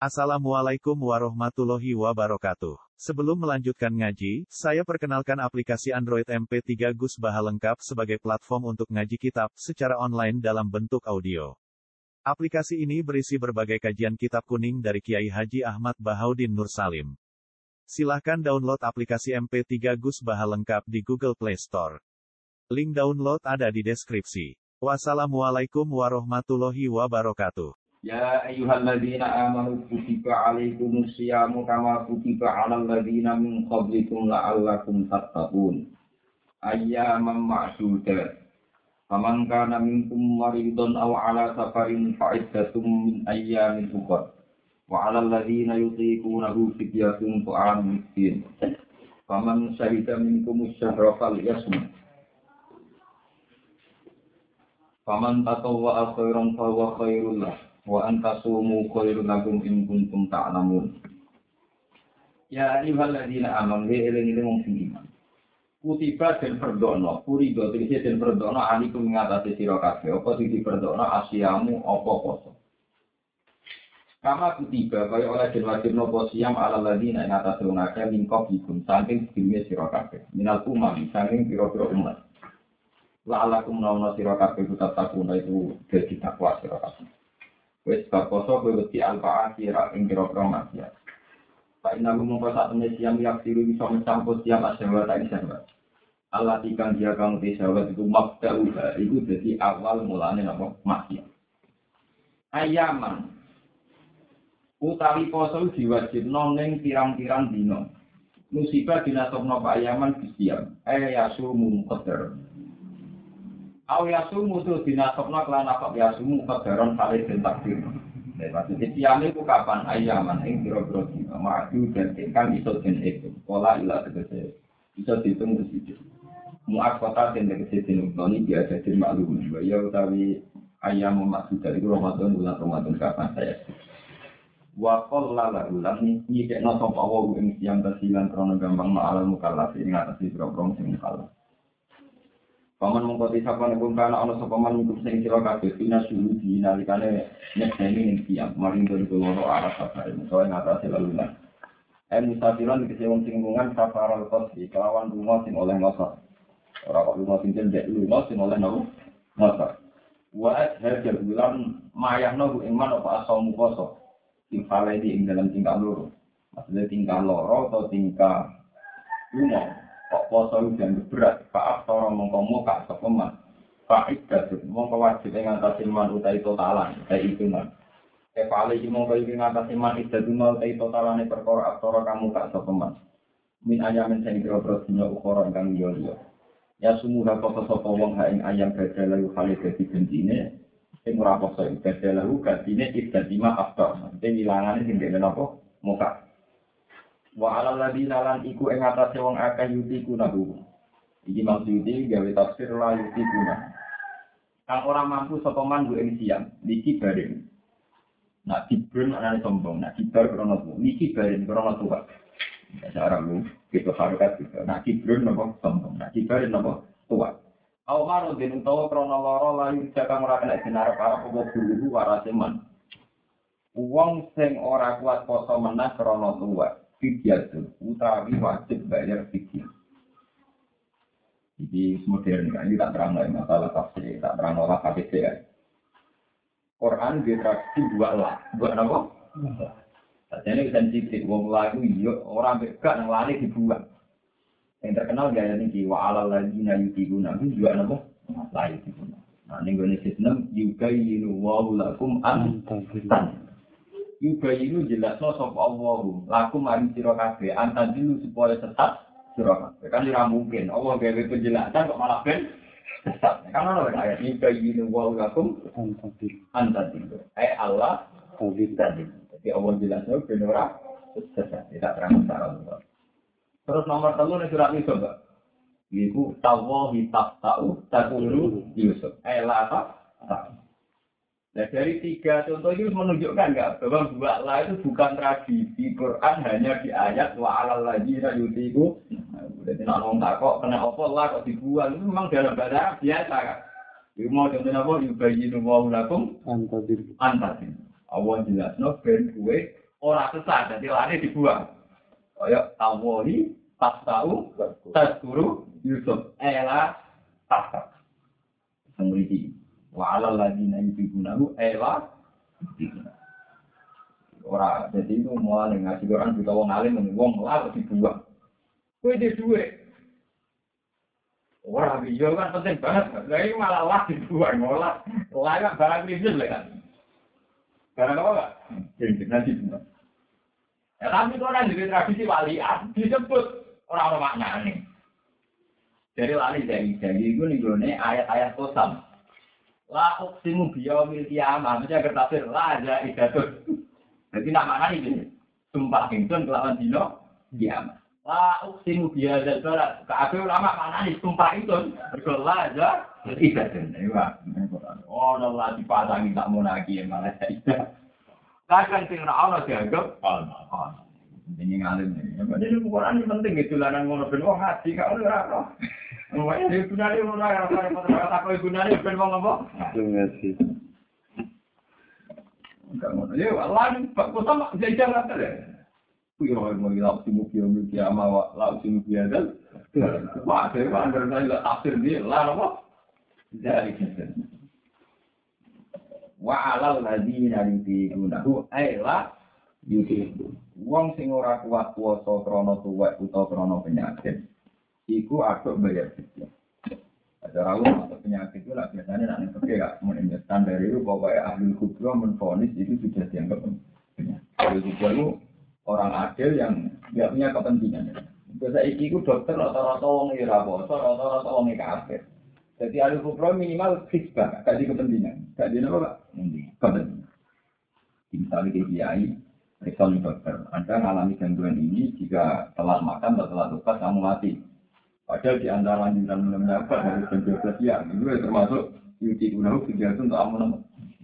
Assalamualaikum warahmatullahi wabarakatuh. Sebelum melanjutkan ngaji, saya perkenalkan aplikasi Android MP3 Gus Baha lengkap sebagai platform untuk ngaji kitab secara online dalam bentuk audio. Aplikasi ini berisi berbagai kajian kitab kuning dari Kiai Haji Ahmad Bahaudin Nur Salim. Silahkan download aplikasi MP3 Gus Baha lengkap di Google Play Store. Link download ada di deskripsi. Wassalamualaikum warahmatullahi wabarakatuh. Ya ayyuhalladzina amanu kutiba alaikumus syiyamu kama kutiba 'alal ladzina min qablikum la'allakum tattaqun. Ayyaman ma'dudat. Faman kana minkum maridun aw 'ala safarin fa'iddatum min ayyamin ukhra. Wa 'alal ladzina yutiqunahu fidyatun ta'amun miskin. Faman syahida minkumus syahra falyasum. Faman tatawwa'a khairan fa huwa khairul lahu. Wa antasumu khairun lakum in kuntum ta'lamun. Ya ayyuhalladzina amanu eling-eling wong sing iman. Kutiba den perdono, purido tegese den perdono alikum ngatasi sira kabeh. Apa sing diperdono asyamu apa poso. Kama kutiba kaya oleh den wajibno apa siam alal ladzina ing atase wong akeh mingko bikum saking sedime sira kabeh. Minal umam saking pira-pira umat. La'alakum nauna sira kabeh tetap takuna itu dadi takwa sira kabeh. Wes bakoso kowe wedi alfa akhira ing kira-kira maksiat. Pak ina mung sak temne siam yak siru iso mencampur siam asyawa tak isyawa. Allah tikang dia kang disawat itu mabda'u iku dadi awal mulane napa maksiat. Ayaman utawi poso diwajibno ning pirang-pirang dina. Musibah dinasabno Pak Ayaman bisiam. Yasumu qadar. Aw yasumu tu dinasabna kelan apa yasumu qadaron kali den takdir. Maksudnya siame ku kapan ayaman ing pira-pira dina maju dan kan iso den itu. Pola ila tegese iso dihitung siji. Muakkata den tegese den utoni biasa den maklum. Ya utawi ayam maksud dari Ramadan bulan Ramadan kapan saya. Wa qallala ulang nyidekno sapa wa ing siang kasilan krana gampang ma'al mukallaf ing atase pira-pira sing mukallaf. Paman mengkoti sapa nek kana ana sapa man iku sing sira kabeh dina suhu di nalikane nyekseni ing tiyang maring dari loro arah safare soe ngatasi lalunan. Musafiran dikese wong sing lungan safaral qasdi kelawan lunga sing oleh ngosor. Ora kok lunga sing cendek lunga sing oleh nopo ngosor. Wa hadza bulan mayahno ing man apa asamu poso. Sing fale di ing dalam tingkah loro. Maksudnya tingkah loro atau tingkah lunga. Kok poso yang berat, Pak Toro mongko muka sepeman. Pak Iqdad mongko wajib ngatasi man utai totalan, utai hitungan. Kepala iki mongko iki ngatasi man Iqdad utai totalane perkara aktara kamu kak sepeman. Min ayamin sing kira-kira dina ukara ingkang liya-liya. Ya sumuha poso sapa wong ha ing ayam badalahu kali dadi gentine sing ora poso badalahu gantine Iqdad lima aftar. Dene ilangane sing dene napa? Muka. Wa 'alal ladzina lan iku ing atase wong akeh yutiku nabu. Iki maksudé gawe tafsir la yutiku nah. Kang ora mampu sapa man nggo ing siang, niki bareng. Nak dibrun anane sombong, nak dibar krana tuwa. Niki bareng krana tuwa. Cara lu gitu harokat gitu. Nak dibrun napa sombong, nak dibar napa tuwa. Aw maro den utawa krana lara layu jakang ora kena dinar para apa guru warase man. Wong sing ora kuat poso menah krana tuwa. Fidyatun utawi wajib bayar fidyah. Jadi modern kan ini tak terang lagi masalah tafsir, tak terang olah hadis ya. Quran diteraksi dua lah, dua apa? Jadi sensitif, wong lagu iyo orang berkat yang lari dibuat. Yang terkenal gaya ini wa 'alal ladzina yutiquna juga apa? Lain dibuat. Nah ini gue sistem yubayyinu wallahu lakum an-tan. Yubayinu jelasno sapa Allah lakum maring sira kabeh antadilu supaya sesat sira kabeh kan ora mungkin Allah gawe penjelasan kok malah ben sesat kan ono ayat yubayinu wa lakum antadilu Allah tadilu jadi Allah jelasno ben ora sesat tidak terang secara luas. Terus nomor 3 ning surat Yusuf Pak iku tawahi taqta'u taqulu Yusuf la ta. Nah dari 3 contoh itu menunjukkan nggak bahwa dua lah itu bukan tradisi Quran hanya di ayat wa 'alal ladzina yutiqu. Jadi nak ngomong tak kok kena apa lah kok dibuang itu memang dalam bahasa Arab biasa kan. Iku mau contohnya apa yubayyinu wa lakum antadir. Allah jelasno ben kuwe Ora sesat, jadi lari dibuang. Kaya tawoli, pas tahu, tas guru, Yusuf, ela, tas. Semriki. Wa alal ladina yubigunahu, ela, ora, jadi itu mulai ngasih orang juga wong alim, wong lalu dibuang. Kue di duit. Wah, video kan penting banget. Lah ini malah lah dibuang, malah lah barang krisis lah kan. Barang apa enggak? Nanti dibuang. Ya tapi itu orang jadi tradisi walian disebut orang-orang maknanya. Jadi lali dari itu nih ayat-ayat kosam. La uqsimu biyaumil qiyamah, maksudnya bertafsir la ada idatun. Jadi nama ini sumpah ingsun kelawan dino kiamat. La uqsimu bihadzal balad. Kabeh ulama maknane sumpah itu berdoa aja ibadah. Oh, Allah dipasangi tak monaki malah tidak. Kadang sing ora ana dianggap Allah. Ini ngalim ini. Jadi Quran ini penting gitu lanan ngono ben wong ngaji gak ora ora. Wong iki gunane ora ora tak gunane ben wong apa? Ngaji. Enggak ngono. Ya Allah kok sama jajan rata deh. Kuwi ora mau lauk simu ki ama lauk simu biadal. Wah, saya anggar saya tafsir dia lah apa? Dari kita. Wa alal ladina yudinuhu ayla yudinuhu. Wong sing ora kuat puasa krana tuwek utawa krana penyakit iku atuk bayar fidyah. Ada rawuh atau penyakit itu lah biasanya nek pergi gak menurut standar itu pokoknya ahli kubra menfonis itu sudah dianggap penyakit. Ahli kubra itu orang adil yang tidak punya kepentingan. Biasa itu dokter rata-rata wong ora poso, rata-rata wong kafir. Jadi ahli kubra minimal hisbah, gak di kepentingan. Gak di apa? Kepentingan. Misalnya kiai Risol dokter, Anda mengalami gangguan ini jika telat makan atau telat lupa kamu mati. Padahal di antara lanjutan mendapat dari jam 12 siang itu termasuk yuti gunahu kegiatan untuk amun.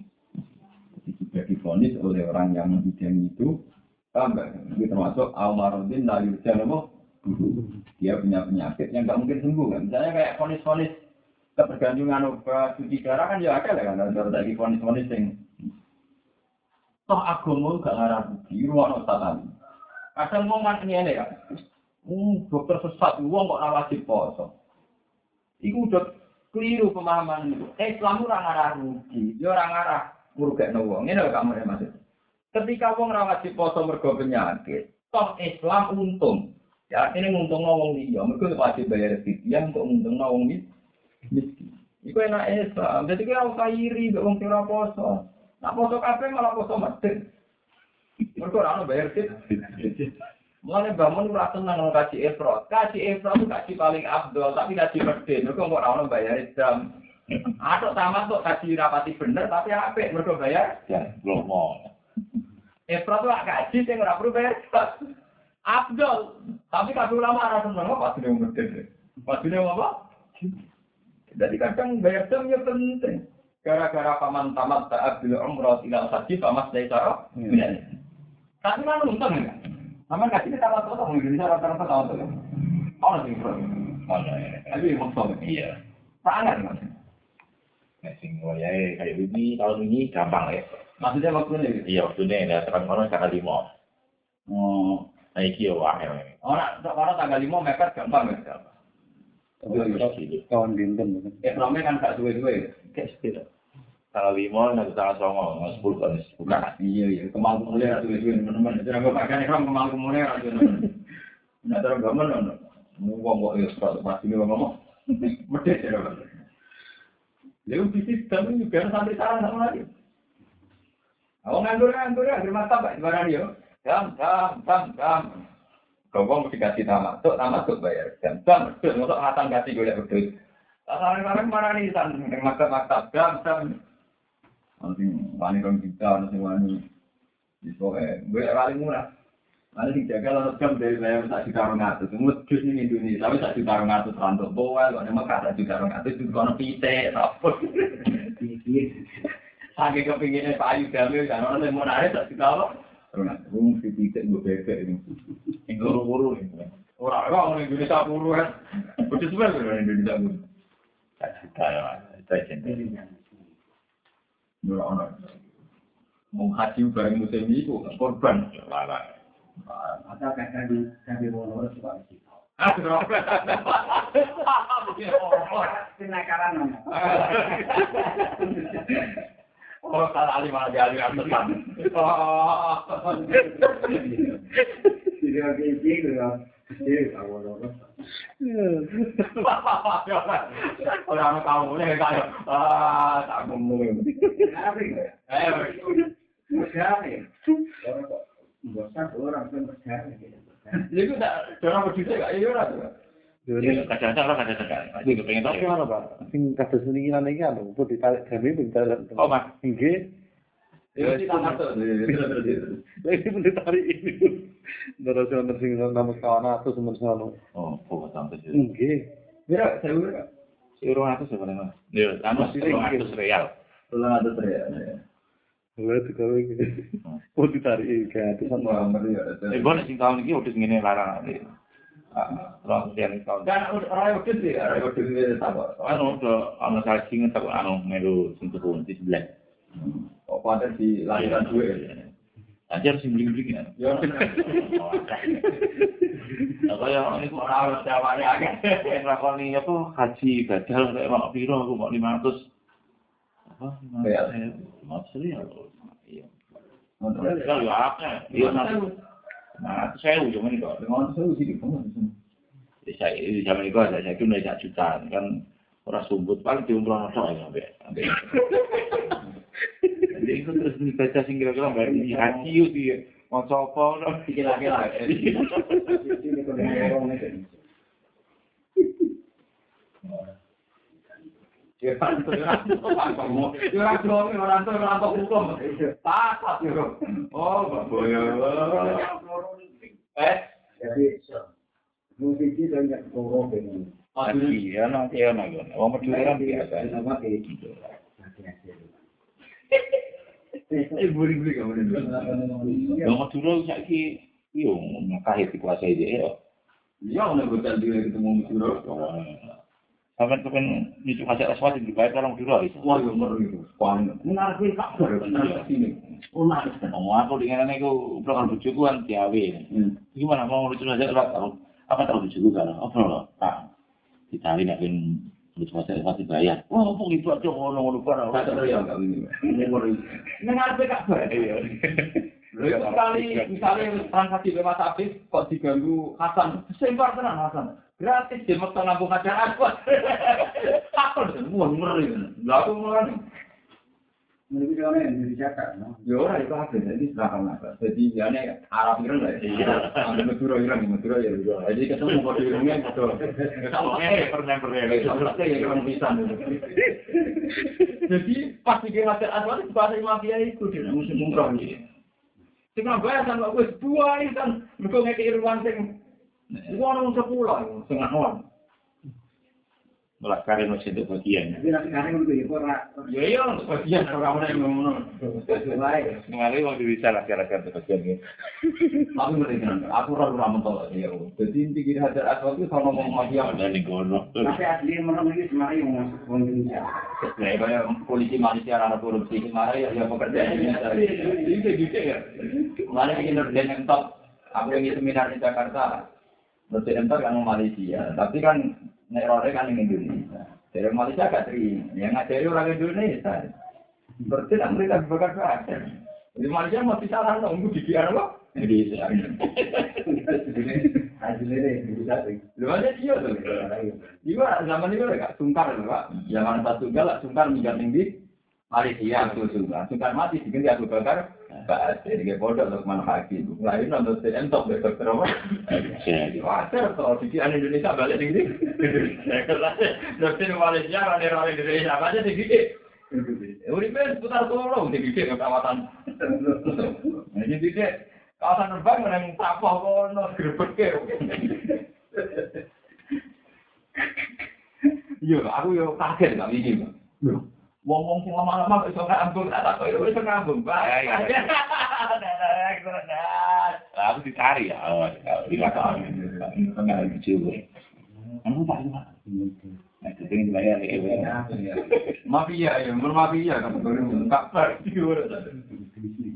Jika divonis oleh orang yang membidangi itu, tambah itu termasuk almarhum lalu jangan dia punya penyakit yang tak mungkin sembuh kan. Misalnya kayak vonis-vonis ketergantungan obat cuci darah kan ya ada lah kan. Ada lagi vonis-vonis yang toh agama gak ngarah budi, ruang tatanan. Kadang ngomong ini ya, dokter sesat, uang kok wajib poso. Iku udah keliru pemahaman itu. Islam orang ngarah rugi, dia orang ngarah murugakno wong. Ini lho kamu maksud. Ketika wong ora wajib poso mergo penyakit, toh Islam untung. Ya ini nguntungno wong liya, mergo wajib bayar fidyah untuk nguntungno wong miskin. Iku enak Islam. Jadi kira usah iri mbek wong sing ora poso. Nak poso kabeh malah poso medhit. Mergo ora ono bayar fidyah. Mulane bangun ora tenang nang kaji ifrat. Kaji ifrat itu kaji paling afdol, tapi kaji medhit. Mergo kok ora ono bayar jam. Atok tamat kok kaji rapati bener tapi apik mergo bayar jam. Lomo. Ifrat itu kaji sing ora perlu bayar jam. Afdol. Tapi kabeh ulama ora seneng kok padune medhit. Padune apa? Jadi kadang bayar jam ya penting. Gara-gara paman tamat saat bil umrah ila haji pamas dari cara. Tapi kan untung ya. Aman kasih kita tamat atau Indonesia rata-rata tamat tuh. Oh nanti bro. Oh ya. Tapi maksudnya iya. Sangat mas. Ngasih ngoyai kayak begini tahun ini gampang ya. Maksudnya waktunya? Iya waktunya ya terang orang tanggal 5. Oh. Nah iki ya wah. Orang tanggal 5 mepet gampang ya. Tahun dinten. Ekonomi kan gak suwe-suwe. Kayak sepeda. Tanggal 5 nanti tanggal 9, 10 kan. Bukan. Iya. Kemal kumulnya suwe-suwe teman-teman. Jadi aku pakai ekran kemal kumulnya teman-teman. Nah, terus gamen ngomong kok ya sepatu pasti ngomong. Medhit ya. Lalu bisnis kami juga sampai salah sama lagi. Aku nganggur ya, terima kasih Pak yo. Jam. Kau mesti kasih tamat tuh bayar jam. Betul, untuk matang kasih gue lihat betul. Sekarang mana nih yang maktab jam. Nanti wani orang kita, nanti wani. Gue paling murah. Nanti dijaga lalu jam dari saya tak juta ngatus. Semua jus ini Indonesia, tapi tak juta ngatus rantuk bawah. Kalau memang tak juta ngatus itu kono pite, apa? Saking kepinginnya Pak Ayu Jamil, kan orang yang mau narik tak juta apa? Gue mesti pite gue bebek ini. Guru-guru ini. Orang Indonesia guru kan. Betul sebenarnya orang Indonesia guru. Tak cerita ya, Mas. Itu aja. Orang. Mau haji bareng musim itu korban larang. Atau kami mau nurut juga sih. Kenakalan nama. Oh, kalau alim alim teman. Oh. Tidak gitu ya. Jadi awal nurut. Orang kamu ni kayak tak ngomong. Berjalan. Bosan orang pun berjalan. Jadi tak orang begitu tak? Iya orang. Jadi kadang-kadang orang kadang-kadang. Aku kepengen tahu. Tapi apa? Sing kados sendirian iki anu, pun ditarik kami ditarik. Oh, Mas. Nggih. Ya kita masuk. Lagi pun ditarik ini. Terus ono sing nama kawan atau semen-semen. Oh, kok sampai situ. Nggih. Mira, saya ura. Euro 100 sebenarnya. Ya, anu 100 real. Pulang ada teriak. Lha digawe iki. Pun ditarik ke atas. Semua meriah. Bon sing tahun iki udah ngene larang ade. Terus yang tahun. Kan orang udah sih, orang udah sih sama. Anu udah ana saji ngetak anu melu sing turun di sebelah. Oh, pada di lahiran gue. Anjir sing bling-bling ya. Ya. Apa ya niku ora jawabane akeh. Nglakoni apa haji badal nek mak piro aku mak 500. Apa? Maksudnya ya. Iya. Kalau ya akeh. Iya nah, saya ujung ini kok. Dengan saya sih kamu. Saya di zaman itu saya kira udah 1 juta kan orang sumbut paling diumroh tok ya sampai. Jadi itu terus dibaca sing kira-kira mbak ini haji itu mau coba no Kira-kira. Ini kalau orang ini. Ya kan orang hukum. Takat yo. Oh, boyo. Jadi musik itu banyak orang ini. haji ya nanti ya naga. Wong Madura kan biasa. Buri-buri kamu ini. Wong Madura saiki yo ngakeh dikuasai dia ya. Ya udah betul dia ketemu Madura. Sampai kepen itu kasih aswat dibayar orang Madura itu. Wah, yo ngeri. Menarik kabar menarik sini. Menarik. Aku dengan aku program bojoku kan diawe. Gimana mau lucu aja tahu. Apa tahu bojoku kan? Apa tak ditawi nek ben lucu aja pasti bayar. Oh, kok gitu aja ngono-ngono kan. Kata ya enggak ini. Ngeri. Menarik kabar. Iya. Misalnya transaksi bebas habis kok diganggu Hasan, sempar tenan Hasan. Gratis di mekto nambung acara aku. Takon semua ngeri. Lah aku mulai. Menurut dia orang yang dijaga, no? Ya ora itu habis jadi silakan apa. Jadi jane Arab Iran lah. Iya. Ada Madura ya. Jadi ketemu kode irungnya kode. Pernah ya orang pisan. Jadi pas iki ngajar asal bahasa mafia itu dia musim umroh iki. Sing bayar sama wis dua iki kan mergo ngeki irwan sing iku ono 10 sing ono. Melakari masih untuk bagian. Tapi nanti kadang itu ya ora. Ya iya untuk bagian orang yang ngono. Sesuai. Mengalih mau bisa lah kira-kira untuk bagian ini. Aku ngerti kan. Aku ora mentol ya. Jadi pikir hajar asal itu sama ngomong mafia Ada di gono. Tapi asli menurut ini sebenarnya yang masuk Indonesia. ya kayak polisi Malaysia ana korupsi kemarin ya pekerjaannya ini gitu ya. Mana bikin norden yang top. Aku yang seminar di Jakarta. Norden top kan Malaysia, tapi kan nek rore kan ning Indonesia. Dari Malaysia gak terima. Yang ngajari orang Indonesia. Berarti nak mereka bakar. Di Malaysia masih salah nunggu di biar apa? Indonesia. Hasilnya bisa sih. Lu aja dia tuh. Iya, zaman itu gak sungkar lho, Pak. Zaman pas tunggal sungkar minggat ning di Malaysia aku sungkar. Sungkar mati diganti aku bakar. Pak, jadi bodoh untuk manfaati. Lain nonton entok dokter apa? Wajar kalau pikiran Indonesia balik ning di. Dokter Malaysia orang Indonesia aja digigit. Uripe seputar tolong digigit ke kawasan. Jadi digigit kawasan terbang menang tapah kono grebeke. Iya, aku yo kaget gak iki, Pak. Wong-wong sing lama-lama iso ngambung, tak kok iso ngambung, Pak. Aku dicari ya. Lihat enggak lucu. Anu Pak Pak. Nah, itu pengen bayar ya. Mafia ya, mafia kan baru kabar.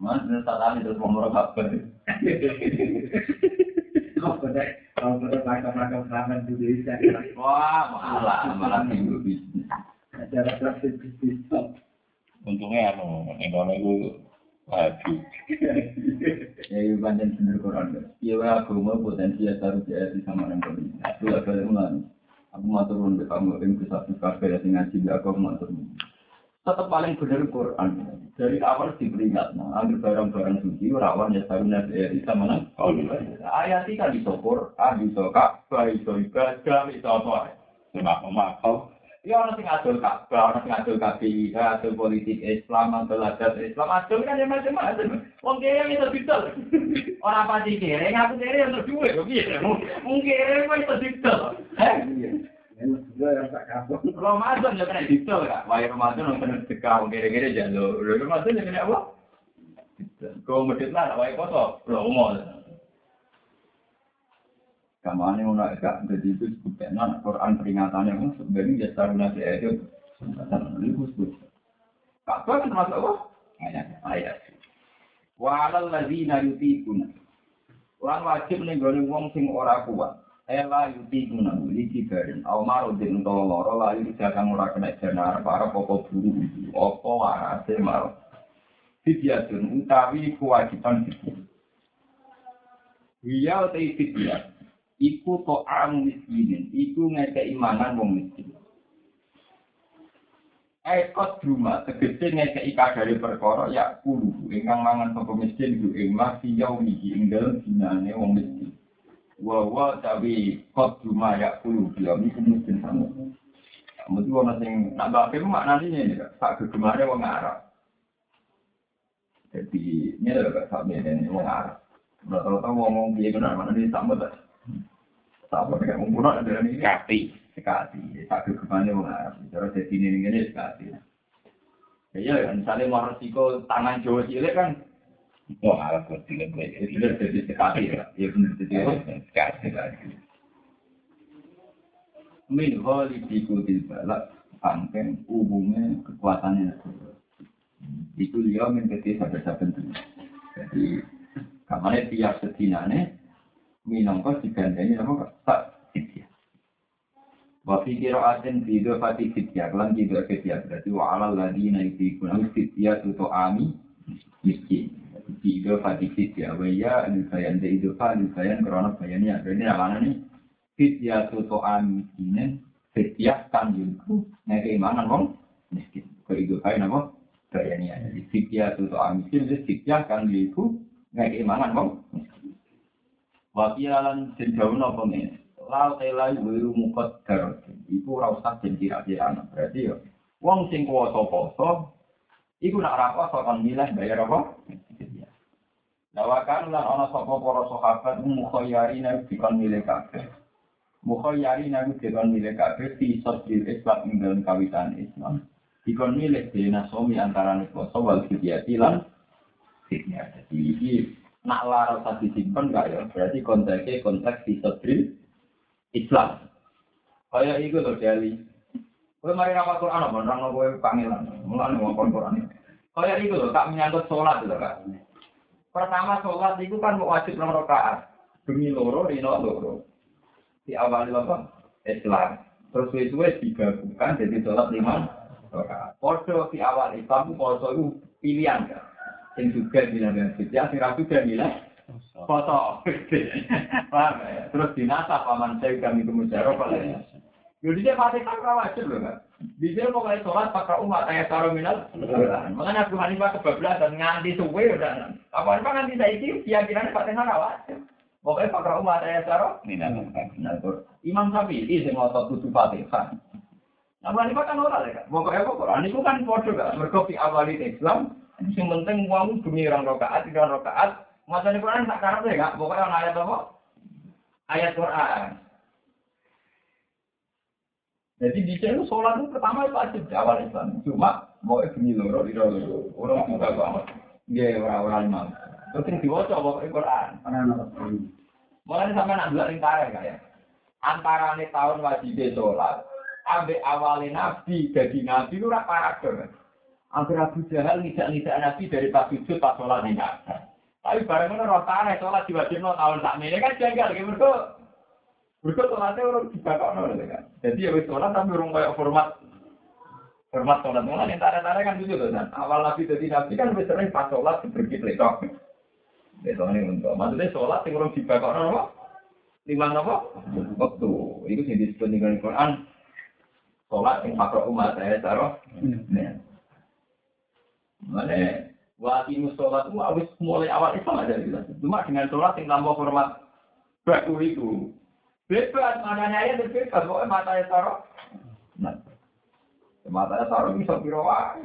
Mas tadi terus ngomong kabar. Kalau pada makam-makam keramat Indonesia. Wah, malah minggu bisnis. Acara praktik bisnis. Untungnya Indonesia itu lagi. Ya, itu panjang bener Quran. Iya, agama potensi taruh di sama orang lain. Itu ada ulang. Aku matur nuwun kamu yang bisa kafe yang ngaji aku matur nuwun. Tetap paling benar Quran. Dari awal diperingat, ambil barang-barang suci, rawan ya saruna bisa menang. Ayat ini kan disokor, bisa Ka'bah, bisa ibadah, bisa apa? Makau. Ya orang sing adol Ka'bah, orang sing adol KPI, adol politik Islam, adol adat Islam, adol kan ya macam-macam. Wong kere itu didol. Orang pasti kere, ngaku kere untuk duit, begitu. Mungkin kere itu didol. Ramadan ya kena didol kak. Wah Ramadan yang kena dekau kira-kira jalur. Ramadan yang kena apa? Kau medit lah, wah kotor. Promo. Kamane ono gak jadi itu sebutnya Quran peringatannya kan sebenarnya ya saruna itu. Itu sebut. Apa kan termasuk apa? Ayat. Wa 'alal ladzina yutiquna. Lan wajib ning gone wong sing ora kuat. Ela yuti guna iki garing Omar den loro lali jagang ora kena jenar para popo buru apa warase mar fidyatun utawi kewajiban fidyah wiya te fidyah iku ta'am miskinin iku ngekeki mangan wong miskin ekot rumah tegese ngekeki kadare perkara ya kudu ingkang mangan sapa miskin ku ing masih yaumi ing dalem dinane wong miskin wa tapi kot cuma ya puluh dia ini mungkin sama. Mesti orang sing nak bape maknanya ini kan, tak kegemarnya orang Arab. Jadi ini adalah sahabat ini orang Arab. Rata-rata ngomong dia benar mana ini sama tak? Sama dengan umurnya ada ini sekati. Tak kegemarnya orang Arab. Cara jadi ini sekati. Ya misalnya mau resiko tangan Jawa cilik kan. Oh, alat kecil itu jadi sekali ya, ya benar jadi sekali. Min holi dikutil balak, pangken umumnya kekuatannya. Itu dia menjadi sahabat-sahabat itu. Jadi, kamarnya tiap sedinane, minangkos digandani apa tak fitiyah. Wafi kiraatin video fatih fitiyah, kelan juga fitiyah. Berarti wa'alal ladina yudhikuna fitiyah tuto ami miskin. Tiga fadikit ya, waya lusayan de idofa lusayan kerana bayannya. Jadi namanya ni fitya tutoan miskinen, fitya kan yunku, naik imanan wong miskin. Kehidupan nama bayannya. Jadi fitya tutoan miskin, jadi fitya kan yunku, naik imanan wong miskin. Wakilan sejauh apa ni? Lau telai wiru mukot garot. Iku rausak dan kira-kira anak. Berarti ya, wong sing kuasa-kuasa, iku nak rapat soal milah bayar apa? Lawakan lan ana sapa para sahabat mukhayyarina dikon milih kabeh. Mukhayyarina dikon milih kabeh fi sodil Islam ing dalem kawitan Islam. Dikon milih dene somi antarané poso wal fidyati lan fidyah. Jadi iki nak lara usah disimpen gak ya? Berarti konteks fi sodil Islam. Kaya iku lho Dali. Kowe mari rapor Quran apa nang kowe pangelan. Mulane ngomong Quran. Kaya iku lho tak menyangkut salat lho Kak. Pertama sholat itu kan wajib 6 rakaat. Demi loro, rino loro. Di awal apa? Islam. Terus itu digabungkan jadi sholat 5 rakaat. Podo di awal Islam itu pilihan kan. Yang juga bilang fitnah, yang juga bilang foto. Terus dinasah paman saya kami kemudian apa lagi? Jadi dia pakai takra wajib loh kan. Di sini pokoknya sholat pakai umat ayat taruminal. Makanya Abu Hanifah kebablasan nganti suwe udah. Abu Hanifah nganti saiki keyakinannya pakai takra wajib. Pokoknya pakai umat ayat taruminal. Imam Syafi'i sing ngotot kudu Fatihah. Abu Hanifah kan ora lek. Pokoknya itu kan podo kan. Mergo fi awali Islam sing penting wong demi rong rakaat, 3 rakaat. Macane Quran tak karepe gak. Pokoknya ana ayat apa? Ayat Quran. Jadi di sini sholat itu pertama itu wajib di awal Islam. Cuma mau bunyi loro di loro. Orang juga banget. Dia orang-orang imam. Terus yang diwaca bawa Quran. Mulai sampai nak dua lingkaran kayak. Antara nih tahun wajib sholat. Ambil awalnya nabi jadi nabi itu rak paradok. Agar Abu Jahal ngidak Nabi dari pas sujud pas sholat ning Ka'bah. Tapi bareng ngono ora tareh sholat diwajibno tahun sakmene kan janggal iki mergo sholatnya orang dibakokno kan. Jadi ya wis sholat tapi urung koyo format sholat mulai yang tarik-tarik kan gitu kan. Awal Nabi jadi Nabi kan wis sering pas sholat berkit letok. Letok ini untuk maksudnya sholat yang urung dibakokno apa? Lima apa? Waktu. Itu sing disebut dengan Quran. Sholat yang makro umat saya taruh. Mana? Waktu sholat itu habis mulai awal itu ada gitu. Cuma dengan sholat yang tambah format baku itu. Bebas maknanya ya bebas. Pokoknya matanya taruh. Nah, matanya taruh bisa biroan.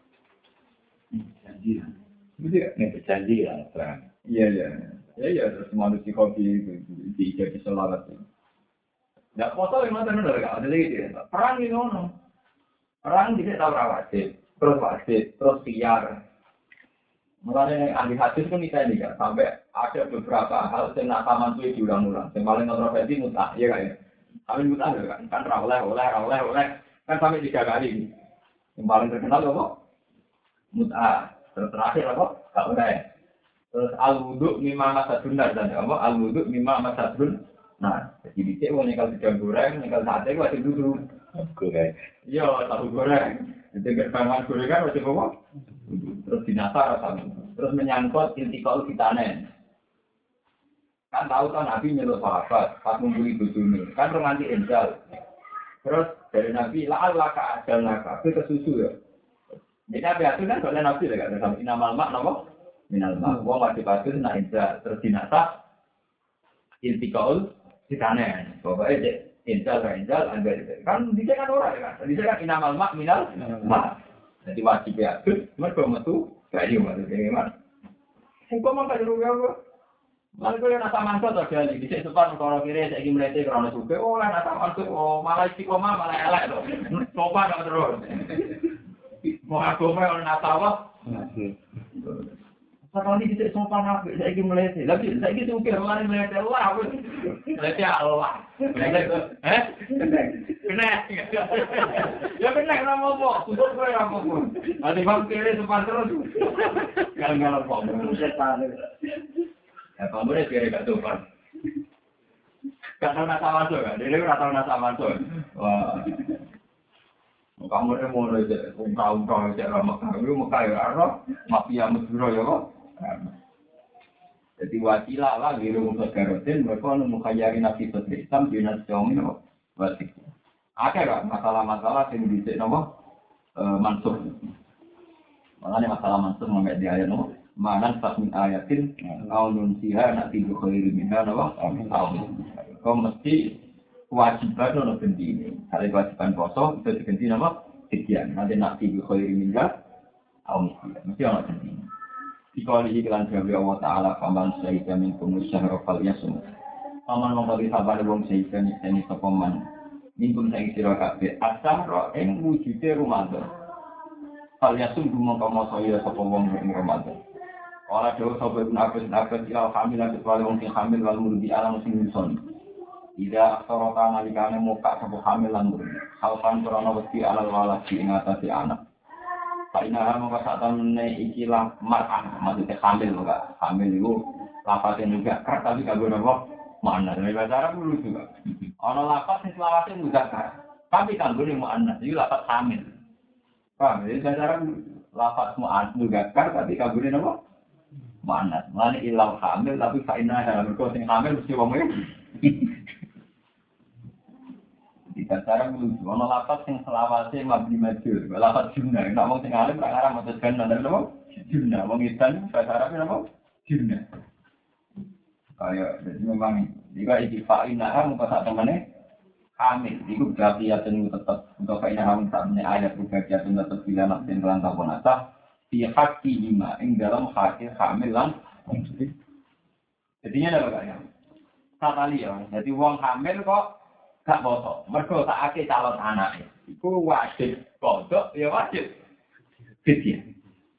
Janji. Gitu ya? Ini berjanji ya. Iya. Ya, terus manusia kopi di selawat. Nggak foto yang mana benar kan? Ada gitu ya. Perang ini ono. Perang tidak tahu wajib, terus siar. Mulanya ahli hadis kan kita ini kan sampai ada beberapa hal yang nak taman tuh diulang-ulang. Yang paling kontroversi mutah, ya kan? Kami mutah kan oleh kan sampai 3 kali. Yang paling terkenal apa? Mutah. Terus terakhir apa? Tak boleh. Terus al-wudu mimma masadun dan apa? Al-wudu mimma masadun. Nah, jadi dicek wong kalau sedang goreng, kalau sate ku wajib duduk. Goreng. Iya, tahu goreng. Jadi gerbangan gorengan wajib apa? Terus dinasar sama. Terus menyangkut intikal fitanen. Kan tahu kan Nabi nyeluk sahabat pas ngumpuli bojone. Kan romanti enjal. Terus dari Nabi la'alla ka'adalna kabeh kesusu ya. Jadi Nabi kan soalnya Nabi lah kan sampai inamal mak napa? Minal mak. Wong wajib atur nak enjal terus dinasar intikal fitanen. Pokoknya enjal anggar kan dicek kan ora kan. Dicek kan inamal mak minal mak. Jadi wajib ya, mereka metu kayu maksudnya gimana? Engkau mau kayu apa? Malah kau yang nasa manso terjadi di sepan kalau kiri saya ingin melihat kerana suka. Oh lah nasa manso, oh malah istiqomah malah elak loh. Sopan dong terus. Mau aku mau nasa apa? Sekali di sopan apa? Saya ingin melihat. Lagi saya ingin suka malah melihat Allah. Melihat Allah. Kena. Ya benar nama apa? Sudah gue nama apa? Ada bang kiri sepan terus. Gagal apa? Ya kamu deh kiri gak sopan. Gak tahu nasa masuk kan? Dia nggak tahu nasa masuk. Wah. Kamu deh mau aja. Ungkau cara Mekah. Lu Mekah ya Arab. Mafia Mesir ya kok. Jadi wakilah lah di rumah Garutin. Mereka mengkayari Nabi Sotri Islam di Nasional ini. Wasik. Ada kan masalah-masalah yang bisa nama mansuh. Makanya masalah mansuh mengenai di ayat nama. Manan pas min ayatin aunun siha nak tidur khairi minha nama. Kau mesti kewajiban untuk ganti ini. Kalau kewajiban poso itu diganti nama sekian. Nanti nak tidur khairi minha mesti orang ganti. Jika diiklan dari Allah Taala paman syahidah min kumus syahrofal yasum. Paman mengkali sabar wong syahidah ini sepaman. Minkum sang sira kabeh asah ro ing wujude Ramadan. Kalian sungguh mongko saya sapa wong ing Ramadan. Ora dhewe sapa Ibnu Abbas ya hamil lan kecuali wong sing hamil wal murdi alam sing nyusun. Ida aksara nalikane muka sapa hamil lan murdi. Halpan krana wedi alal waladi ing atase anak. Paina mongko satemene iki lah mar'ah maksudnya hamil enggak. Hamil iku lafate juga tapi kanggo napa? Mana dari bahasa Arab dulu juga. Ono lafaz sing selawase muzakkar. Tapi kanggo ning muannats iki lafaz hamil. Paham? Jadi bahasa Arab lafaz muzakkar tapi kanggo ning apa? Muannats. Mane ilang hamil tapi faina mergo sing hamil mesti wong e. Di bahasa Arab dulu ono lafaz sing selawase mabni majhul. Lafaz jumlah. Nek wong sing alim ra ngarang maca kan napa? Jumlah. Wong edan bahasa Arab napa? Jumlah. Kayak jadi memang jika istiqain nahar muka saat temannya hamil, itu bagian tetap untuk kainah hamil saat ini ayat bagian tetap bila naksin kelantau penasah pihak lima yang dalam hasil hamilan. Jadinya ada bagainya sekali ya. Jadi uang hamil kok gak bosok. Mereka tak ada calon anak. Itu wajib kodok ya wajib fidyah.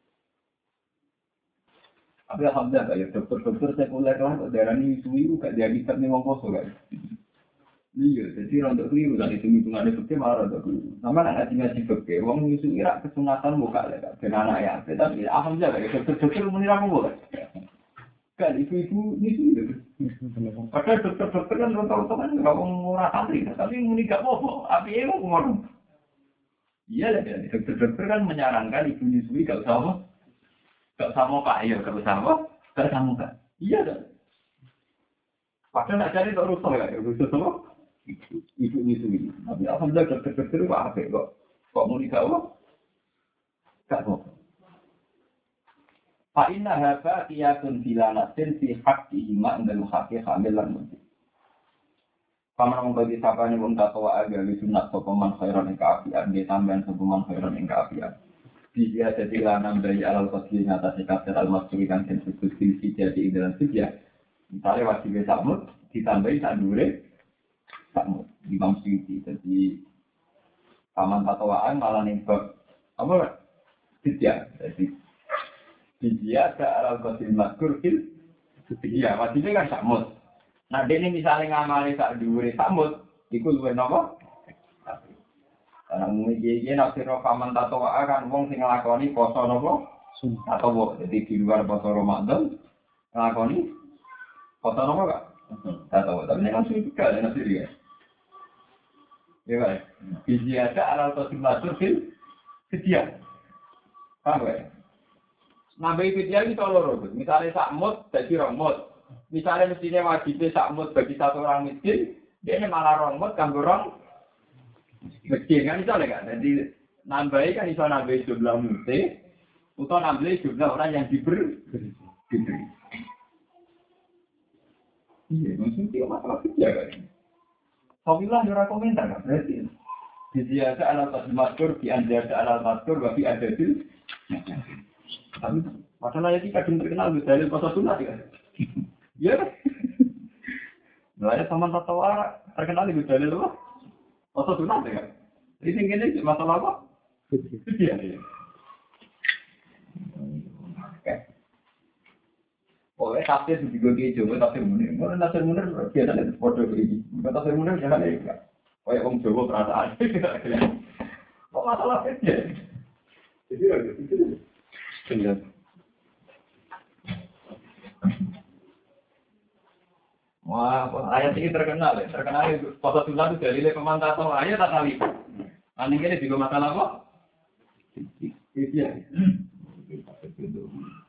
Tapi alhamdulillah ya dokter-dokter sekuler lah kok darani suwi gak diagikat nih wong poso gak. Iya, jadi rontok keliru kan itu hitungannya fikih malah rontok keliru. Sama anak ngaji fikih, wong nyusu ira kesunatan buka lah, ben anak ya. Tapi alhamdulillah ya dokter menira apa kan? Kan ibu-ibu nyusu. Padahal dokter kan rontok-rontok kan nggak mau ora santri, tapi muni gak apa-apa. Tapi emang ngomong. Iya lah, dokter kan menyarankan ibu nyusui gak usah apa? Gak sama Pak, ya gak usah apa? Gak sama Pak. Iya dah. Padahal nak cari tak rusak ya, rusak apa? Ibu nyusui. Tapi alhamdulillah dokter itu apa kok mau dikawal? Gak apa. Fa inna hadza qiyatun filanatin fi haqqihi ma indal haqqi hamilan mesti. Paman wong bagi sapane wong takwa aga wis sunat sapa man khairan ing kaapian, dia tambahan sapa man khairan ing kaapian. Dia jadi lanang dari alal qadri ngatasi kafir al-masuri kan disebut silsi jadi ing dalam sedia. Misalnya wajib sakmut ditambahi sak dhuwure sakmut di Imam Suyuti. Jadi paman takwaan malah ning bab apa? Sedia. Jadi dia ke alal qadri mazkur fil sedia. Wajibnya kan sakmut. Nah, dene misalnya ngamali sak dhuwure samut, iku luwih napa? Karena mung iki nek sira paman tatwa kan wong sing nglakoni poso napa? Atau jadi di luar poso Ramadan nglakoni poso napa Kak? Tatwa. Tapi nek sing juga nek sing ya. Ya baik. Biji ada alal qadri mazkur fil sedia. Paham ya? Nambahi fidyah iki loro, misalnya sakmut dadi romot. Misalnya mestinya wajibnya sakmut bagi satu orang miskin, dia malah romot kanggo orang miskin kan misalnya kan. Jadi nambahi kan bisa nambahi jumlah mute, atau nambahi jumlah orang yang diberi. Iya, maksudnya masalah kerja kan. Soalnya ada komentar kan, berarti dia ada alat maskur, di anda ada alat maskur, tapi ada di. Tapi masalah yang kadang terkenal dari pasal sunat kan. Ya, mulai sama tatwa terkenal di dalil apa? Pasal sunat ya. Ini gini masalah apa? Iya. Oke. Oleh tafsir juga gitu, tafsir munir. Mana tafsir munir biasanya foto begini. Tafsir munir jangan ya. Kayak orang Jawa perasaan. Kok masalah aja? Jadi itu benar. Wah, ayat ini terkenal ya. Terkenal itu pasal sunat itu dalile pemantau ayat tak kali. Ini juga masalah apa? Iya.